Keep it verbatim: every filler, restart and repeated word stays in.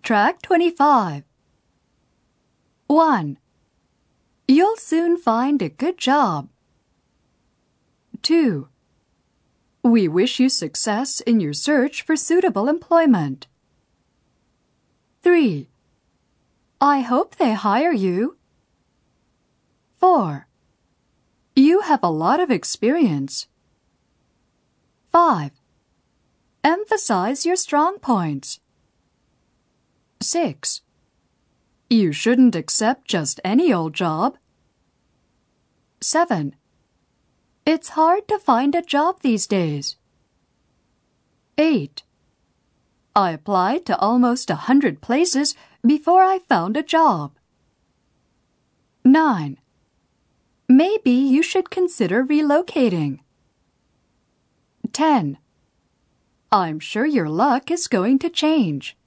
Track twenty-five. one. You'll soon find a good job. two. We wish you success in your search for suitable employment. three. I hope they hire you. four. You have a lot of experience. five. Emphasize your strong points. six. You shouldn't accept just any old job. seven. It's hard to find a job these days. eight. I applied to almost a hundred places before I found a job. nine. Maybe you should consider relocating. ten. I'm sure your luck is going to change.